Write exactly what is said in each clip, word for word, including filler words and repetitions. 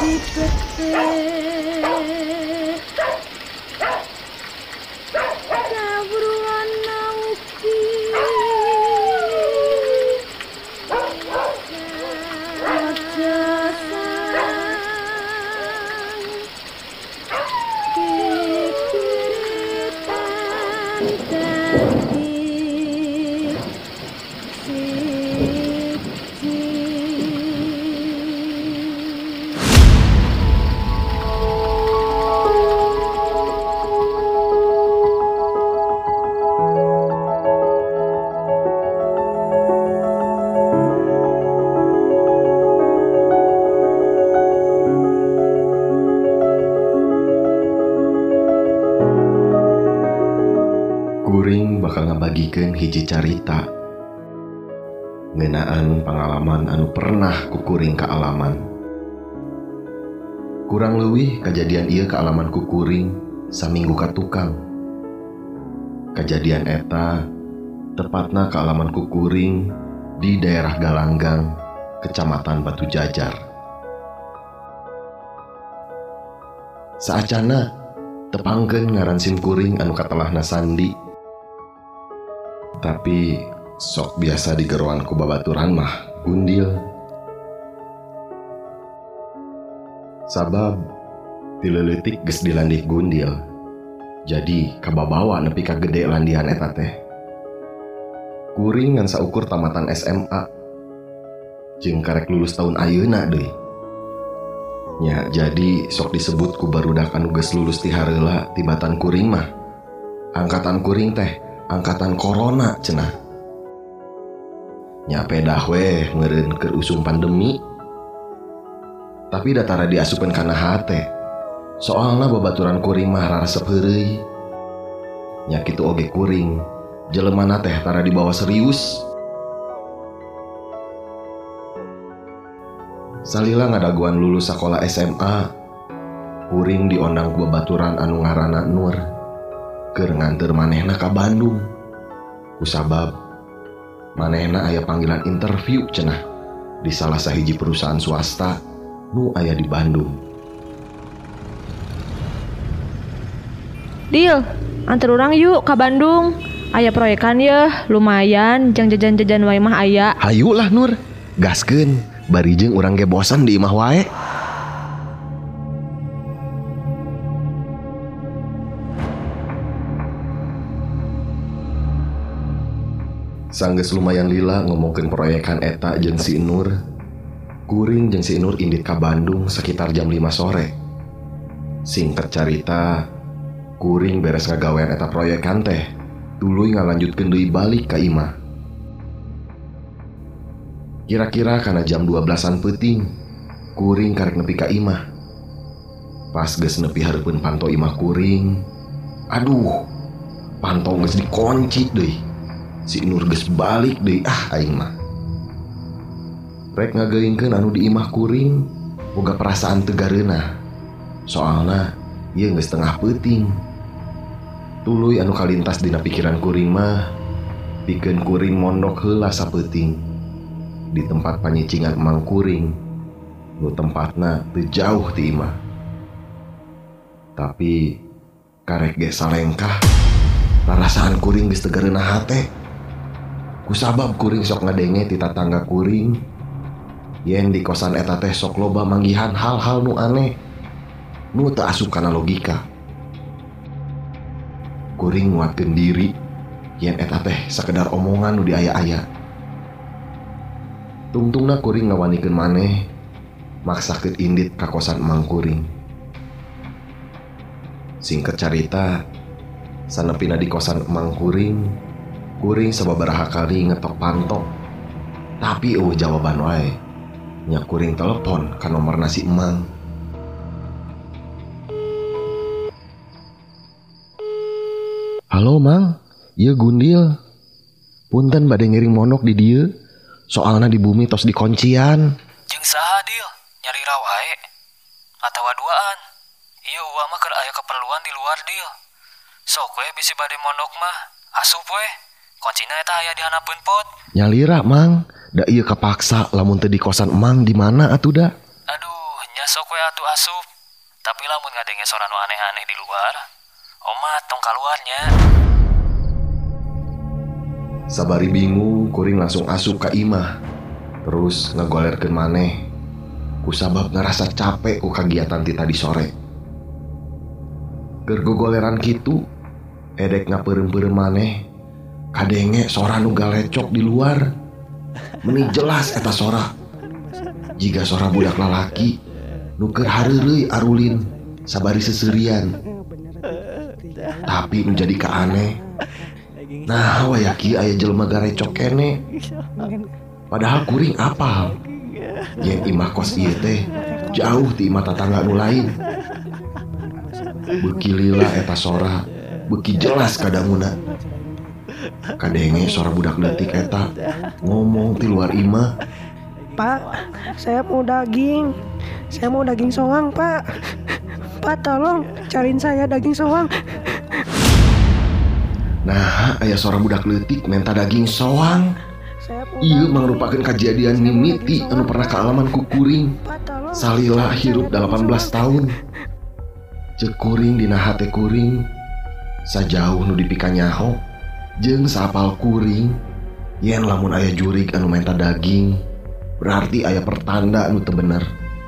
Kuring bakal ngabagikeun hiji carita ngeunaan pangalaman anu pernah ku kuring kaalaman. Kurang leuwih kajadian ieu kaalaman ku kuring saminggu ka tukang. Kajadian eta tepatna kaalaman ku kuring di daerah Galanggang, Kecamatan Batu Jajar. Saacana tepangkeun ngaran sim kuring anu katelahna Sandi. Tapi sok biasa digeroan ku babaturan mah Gundil. Sabab tileutik geus dilandih Gundil, jadi kababawa nepi ka gede landihan eta teh. Kuring ngan saukur tamatan S M A jeung karek lulus tahun ayeuna deui. Nya jadi sok disebut ku barudak anu geus lulus ti hareula tibatan kuring mah angkatan kuring teh angkatan corona cenah. Nya pedah weh ngeureun keur usum pandemi. Tapi datara diasupkeun kana hate. Soalna babaturan kuring mah raresep heureuy. Nya kitu oge kuring, jelemana teh tara dibawa serius. Salila ngadaguan lulus sakola S M A, kuring diondang ku babaturan anu ngaranna Nur keur nganteur manehna ka Bandung. Kusabab manehna aya panggilan interview cenah di salah sahiji perusahaan swasta nu aya di Bandung. Dil, antar urang yuk ka Bandung. Aya proyekan yeuh, lumayan, jang jajan-jajan wae mah aya. Hayu lah Nur, gaskeun, bari jeung urang ge bosan di imah wae. Sanggeus lumayan lila ngomongkeun proyekan eta jeung si Nur. Kuring jeung si Nur indit ka Bandung sekitar jam lima sore. Singkat carita, kuring beres ngagawean eta proyekan teh, tuluy ngalanjutkeun deui balik ka imah. Kira-kira kana jam dua belasan peuting, kuring karek nepi ka imah. Pas geus nepi hareupeun panto imah kuring, aduh, panto geus dikunci deui. Si Nur geus balik deui ah aing mah. Rek ngageuingkeun anu di imah kuring boga perasaan teu gareunah. Soalna ieu geus tengah peuting. Tuluy anu kalintas dina pikiran kuring mah pikeun kuring mondok heula sapeuting di tempat panyicingan emang kuring nu tempatna teu jauh ti imah. Tapi karek ge salengkah rarasaan kuring geus teu gareunah hate. Kusabab kuring sok ngadenge ti tatangga kuring yen di kosan eta teh sok loba manggihan hal-hal nu aneh nu teu asup kana logika. Kuring nguatkeun diri yen eta teh sakedar omongan nu diaya-aya. Tungtungna kuring ngawanikeun maneh maksakeun indit ka kosan emang kuring. Singkat carita, sanepina di kosan emang kuring, kuring sababaraha kali ngetok panto, tapi eueuh jawaban wae. Nya kuring telepon ka nomerna si emang. Halo Mang, ieu Gundil. Punten bade ngiring monok di dieu. Soalna di bumi tos dikuncian. Jeung saha Dil? Nyari raw wae atawa duaan? Ieu uwa mah keur aya keperluan di luar Dil. Sok we bisi bade mondok mah asup we. Kuncina eta aya di hanapeun pot. Nyalira Mang, da ieu kapaksa lamun teu di kosan Emang di mana atuh da? Aduh, nya sok we atuh asup. Tapi lamun ngadenge sora nu aneh-aneh di luar, omat tong kaluarnya. Sabari bingung, kuring langsung asup ka imah. Terus ngegolerkeun maneh. Kusabab ngerasa capek ku kagiatan ti tadi sore. Keur gogoleran kitu, edek ngapeureum-peureum maneh. Kadenge sora nu galecok di luar. Meni jelas eta sora. Jiga sora budak lalaki nu keur hareureuy arulin sabari seseurian. Tapi nu jadi kaaneh, nah waya kieu aya jelema garecok kene. Padahal kuring apal yen imah kos ieu teh jauh ti imah tatangga nu lain. Beuki lila eta sora, beuki jelas kadanguna. Kadenge sora budak leutik eta ngomong ti luar imah. Pak, saya mau daging. Saya mau daging soang, Pak. Pak, tolong cariin saya daging soang. Nah, aya sora budak leutik minta daging soang. Ieu mangrupakeun kajadian mimiti anu pernah kaalaman ku kuring. Salila hirup delapan belas tahun. Ceuk kuring dina hate kuring sajauh nu dipikanyaho jeung saapal kuring yen lamun aya jurig anu minta daging berarti aya pertanda anu teu bener.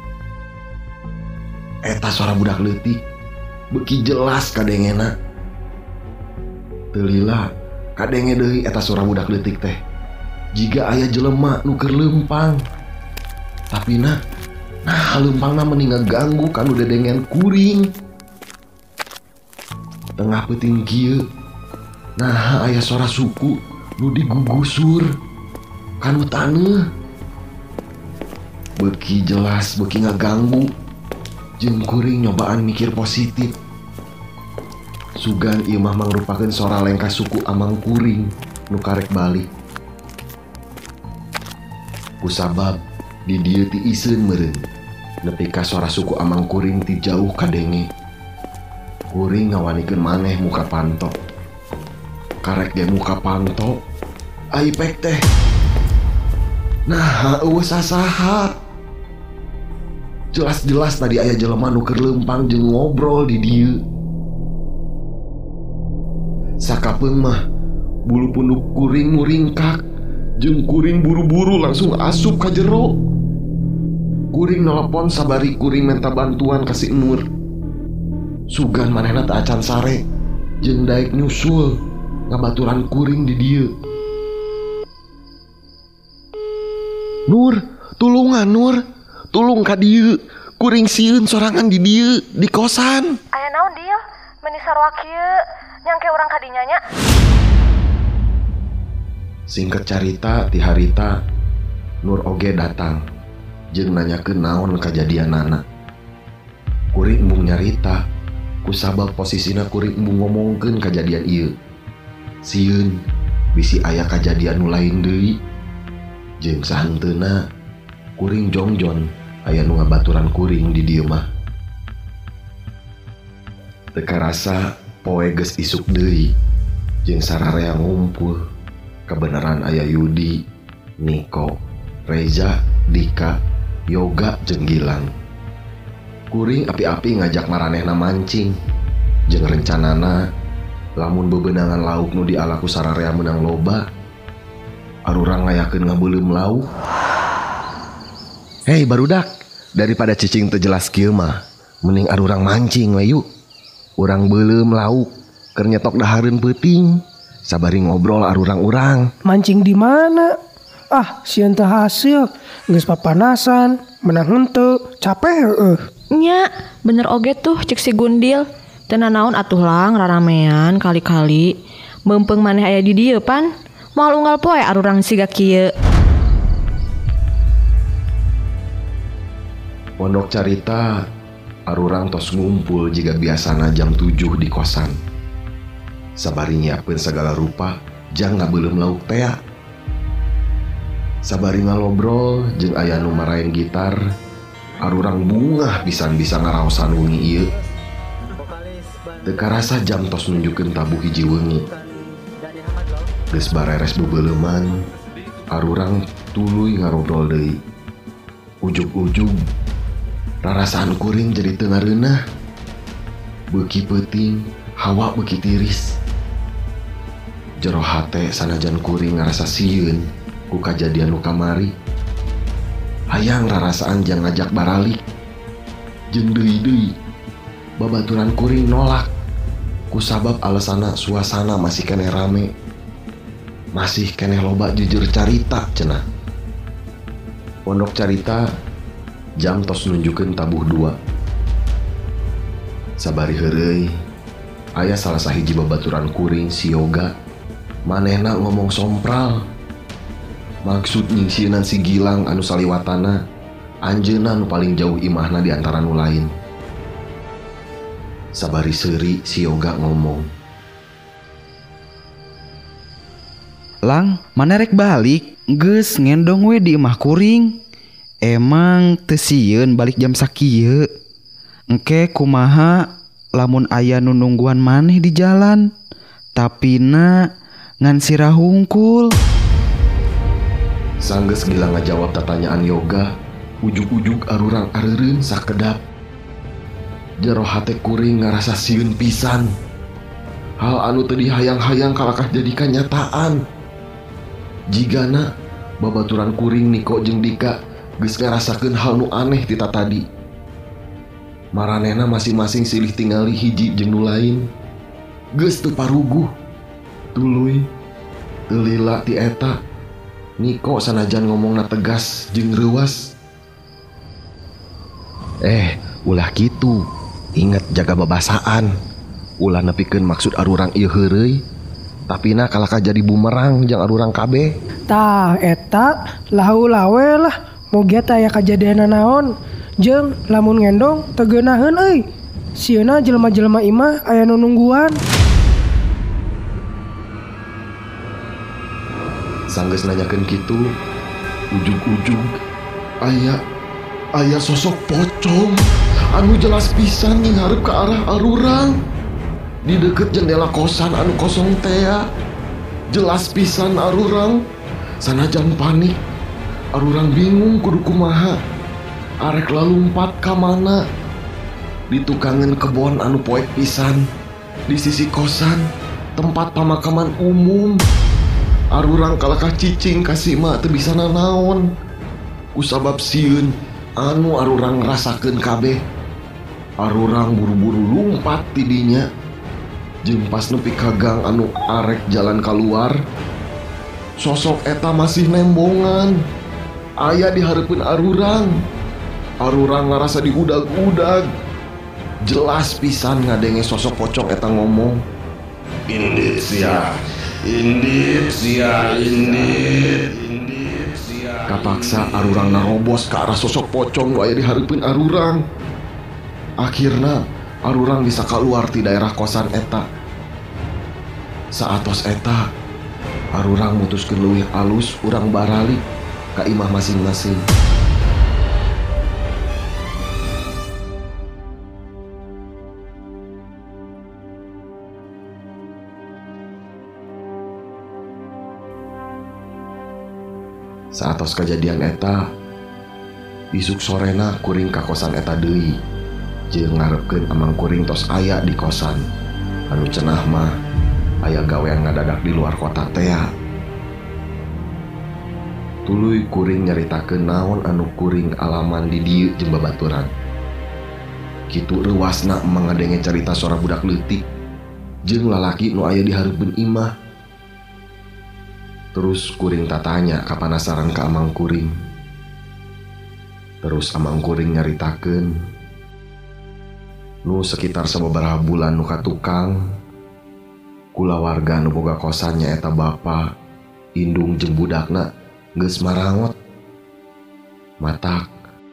Eta sora budak leutik beuki jelas kadengena. Teu lila kadenge deui eta sora budak leutik teh jiga aya jelema nu keur leumpang. Tapina nah leumpangna meni ngaganggu kanu dedengen kuring. Tengah peuting kieu nah aya sora suku nu digugusur kanu taneuh. Beuki jelas beuki ngaganggu jeung kuring nyobaan mikir positif. Sugan ieu mah mangrupakeun sora lengkah suku Amang kuring nu karek balik. Kusabab di dieu ti iseun meureun nepi ka sora suku Amang kuring ti jauh kadenge. Kuring ngawanikeun maneh muka panto. Karek ge muka panto aipek teh. Nah, eueuh sasaha. Jelas-jelas tadi aya jelema nu keur leumpang jeung ngobrol di dieu. Sakapeung mah bulu punduk kuring muringkak jeung kuring buru-buru langsung asup ka jero. Kuring nelpon sabari kuring minta bantuan ka si Nur. Sugan manehna teu acan sare jeung daek nyusul ngabaturan kuring di dieu. Nur, tulungan Nur. Tulung ka dieu, kuring sieun sorangan di dieu di kosan. Aya naon dieu? Meni sarua kieu, nyangke urang kadinya nya. Singkat carita ti harita Nur oge datang jeung nanyakeun naon kajadianana. Kuring embung nyarita kusabab posisina kuring embung ngomongkeun kajadian ieu. Sieun bisi aya kajadian nu lain deui. Jeung sahanteuna kuring jongjon aya nu ngabaturan kuring di dieu mah. Teu karasa poe geus isuk deui jeung sararea ngumpul. Kebenaran aya Yudi, Niko, Reza, Dika, Yoga jeung Gilang. Kuring api-api ngajak maranehna mancing jeung rencanana lamun bebenangan lauk nu dialaku sararea meunang loba arurang ngayakeun ngabeuleuh lauk. Hei barudak, daripada cicing teu jelas kieu mah mending arurang mancing we yuk. Urang beuleuh lauk keur nyetok dahareun peuting sabari ngobrol arurang-urang. Mancing di mana? Ah, sieun teu hasil, geus papanasan, menang henteu, capek heueuh. Nya, bener oge tuh cek si Gundil. Teu nanaon atuh lang raramean kali-kali. Beumpeng maneh aya di dieu pan. Moal unggal poe arurang siga kieu. Pondok carita arurang tos ngumpul jiga biasana jam tujuh di kosan. Sabari nyiapkeun segala rupa jang ngabeuleuh lauk tea. Sabari ngalobrol jeung aya nu maraen gitar, arurang bungah pisan bisa ngaraosan wengi ieu. Teu karasa jam tos nunjukkeun tabuh hiji wengi. Geus bareres bebeuleuman, arurang tuluy ngarobrol deui. Ujug-ujug Rarasaan kuring jadi teu ngareunah. Beuki peuting, hawa beuki tiris. Jero hate sanajan kuring ngarasa sieun ku kajadian nu kamari. Hayang rarasaan jang ngajak baralik. Jeung deui-deui babaturan kuring nolak. Kusabab alasana suasana masih keneh rame. Masih keneh loba jujur carita cenah. Pondok carita jam tos nunjukeun tabuh dua. Sabari heureuy aya salah sahiji babaturan kuring si Yoga. Manehna ngomong sompral. Maksud nyingsieunan si Gilang anu saliwatana, anjeunna nu paling jauh imahna di antara nu lain. Sabari seuri si Yoga ngomong, "Lang, mana rek balik? Geus ngendong we di imah kuring. Emang teu sieun balik jam sakieu. Engke kumaha lamun aya nu nungguan maneh di jalan, tapina ngan sirah hungkul." Sanggeus Gilang ngajawab tatanyaan Yoga, ujug-ujug arurang areureun sakedap. Jero hate kuring ngarasa sieun pisan. Hal anu teu dihayang-hayang kalakah jadi kanyataan. Jigana babaturan kuring Niko jeung Dika geus ngarasakeun hal nu aneh ti tadi. Maranehna masing-masing silih tingali hiji jeung nu lain. Geus teu paruguh. Tuluy teu lila ti eta. Niko sanajan ngomongna tegas jeung reuwas. Eh, ulah kitu. Ingat jaga babasaan. Ulah nepikeun maksud arurang ieu heureuy. Tapina kalakah jadi bumerang jeung arurang kabeh. Tah eta lahu lawe lah moga teh aya kajadian naon. Jeung lamun ngendong teu geunaheun euy. Sieuna jelema-jelema imah aya nu nungguan. Sanggeus nanyakeun kitu, ujug-ujug aya aya sosok pocong anu jelas pisan ngarep ke arah arurang di deket jendela kosan anu kosong teh. Jelas pisan arurang sanajan panik. Arurang bingung kudu kumaha. Arek lalumpat ka mana. Di tukangan kebon anu poek pisan di sisi kosan tempat pemakaman umum. Arurang kalakah cicing kasih mak teu bisa nanaon. Kusabab sieun anu arurang rasakeun kabeh. Arurang buru-buru lumpat tidinya. Jeung pas nepi ka gang anu arek jalan keluar, sosok eta masih nembongan. Aya di hareupeun arurang. Arurang ngarasa diudag-udag. Jelas pisan ngadenge sosok pocong eta ngomong, "Indit sia, indit sia, indit." Kapaksa arurang narobos ke arah sosok pocong nu aya di hareupeun arurang. Akhirna arurang bisa keluar di daerah kosan eta. Saatos eta arurang mutuskeun leuwih alus urang baralik ka imah masing-masing. Saatos kejadian eta, isuk sorena kuring ka kosan eta deui. Jeung ngarepkeun amang kuring tos aya di kosan. Anu cenah mah aya gawean ngadadak di luar kota teh. Tuluy kuring nyaritakeun naon anu kuring alaman di dieu jeung babaturan. Kitu reuasna emang ngadenge carita suara budak leutik jeung lalaki nu aya di hareupeun imah. Terus kuring tatanya kapanasaran ka amang kuring. Terus amang kuring nyaritakeun nu sekitar sababaraha bulan nu katukang kulawarga nu boga kosan nyaeta bapa, indung jeung budakna geus marangot. Matak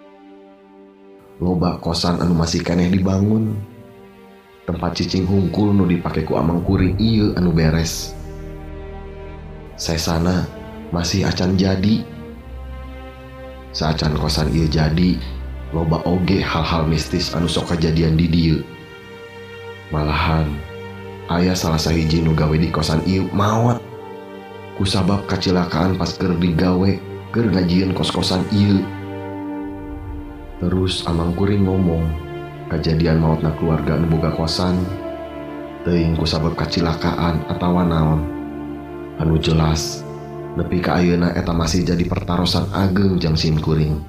loba kosan anu masih keneh dibangun. Tempat cicing hungkul nu dipake ku amang kuring ieu anu beres. Saesana masih acan jadi. Saacan kosan ieu jadi, loba oge hal-hal mistis anu sok kajadian di dieu. Malahan aya salah sahiji nu gawe di kosan ieu maot. Kusabab kacilakaan pas keur digawe keur ngajieun kos-kosan ieu. Terus amang kuring ngomong kejadian mautna keluarga nu boga kosan teuing ku sabab kacilakaan atawa naon. Anu jelas nepi ka ayeuna eta masih jadi pertarosan ageng jang sim kuring.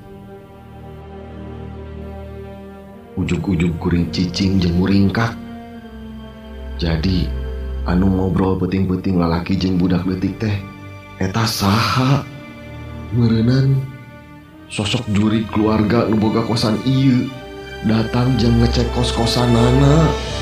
Ujug-ujug kuring cicing jeung muringkak. Jadi anu ngobrol peuting-peuting lalaki jeung budak leutik teh eta saha? Meureunnan sosok jurig keluarga nu boga kosan ieu datang jeung ngecek kos-kosanana.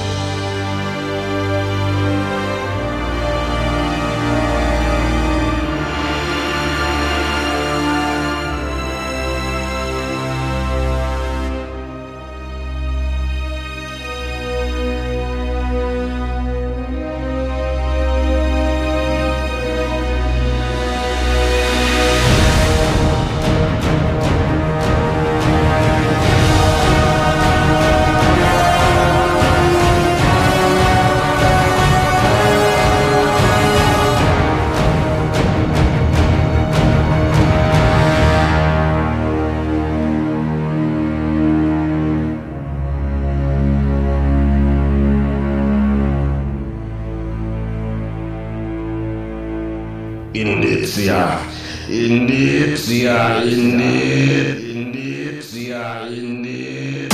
Indit sia, indit sia, indit, indit sia, indit.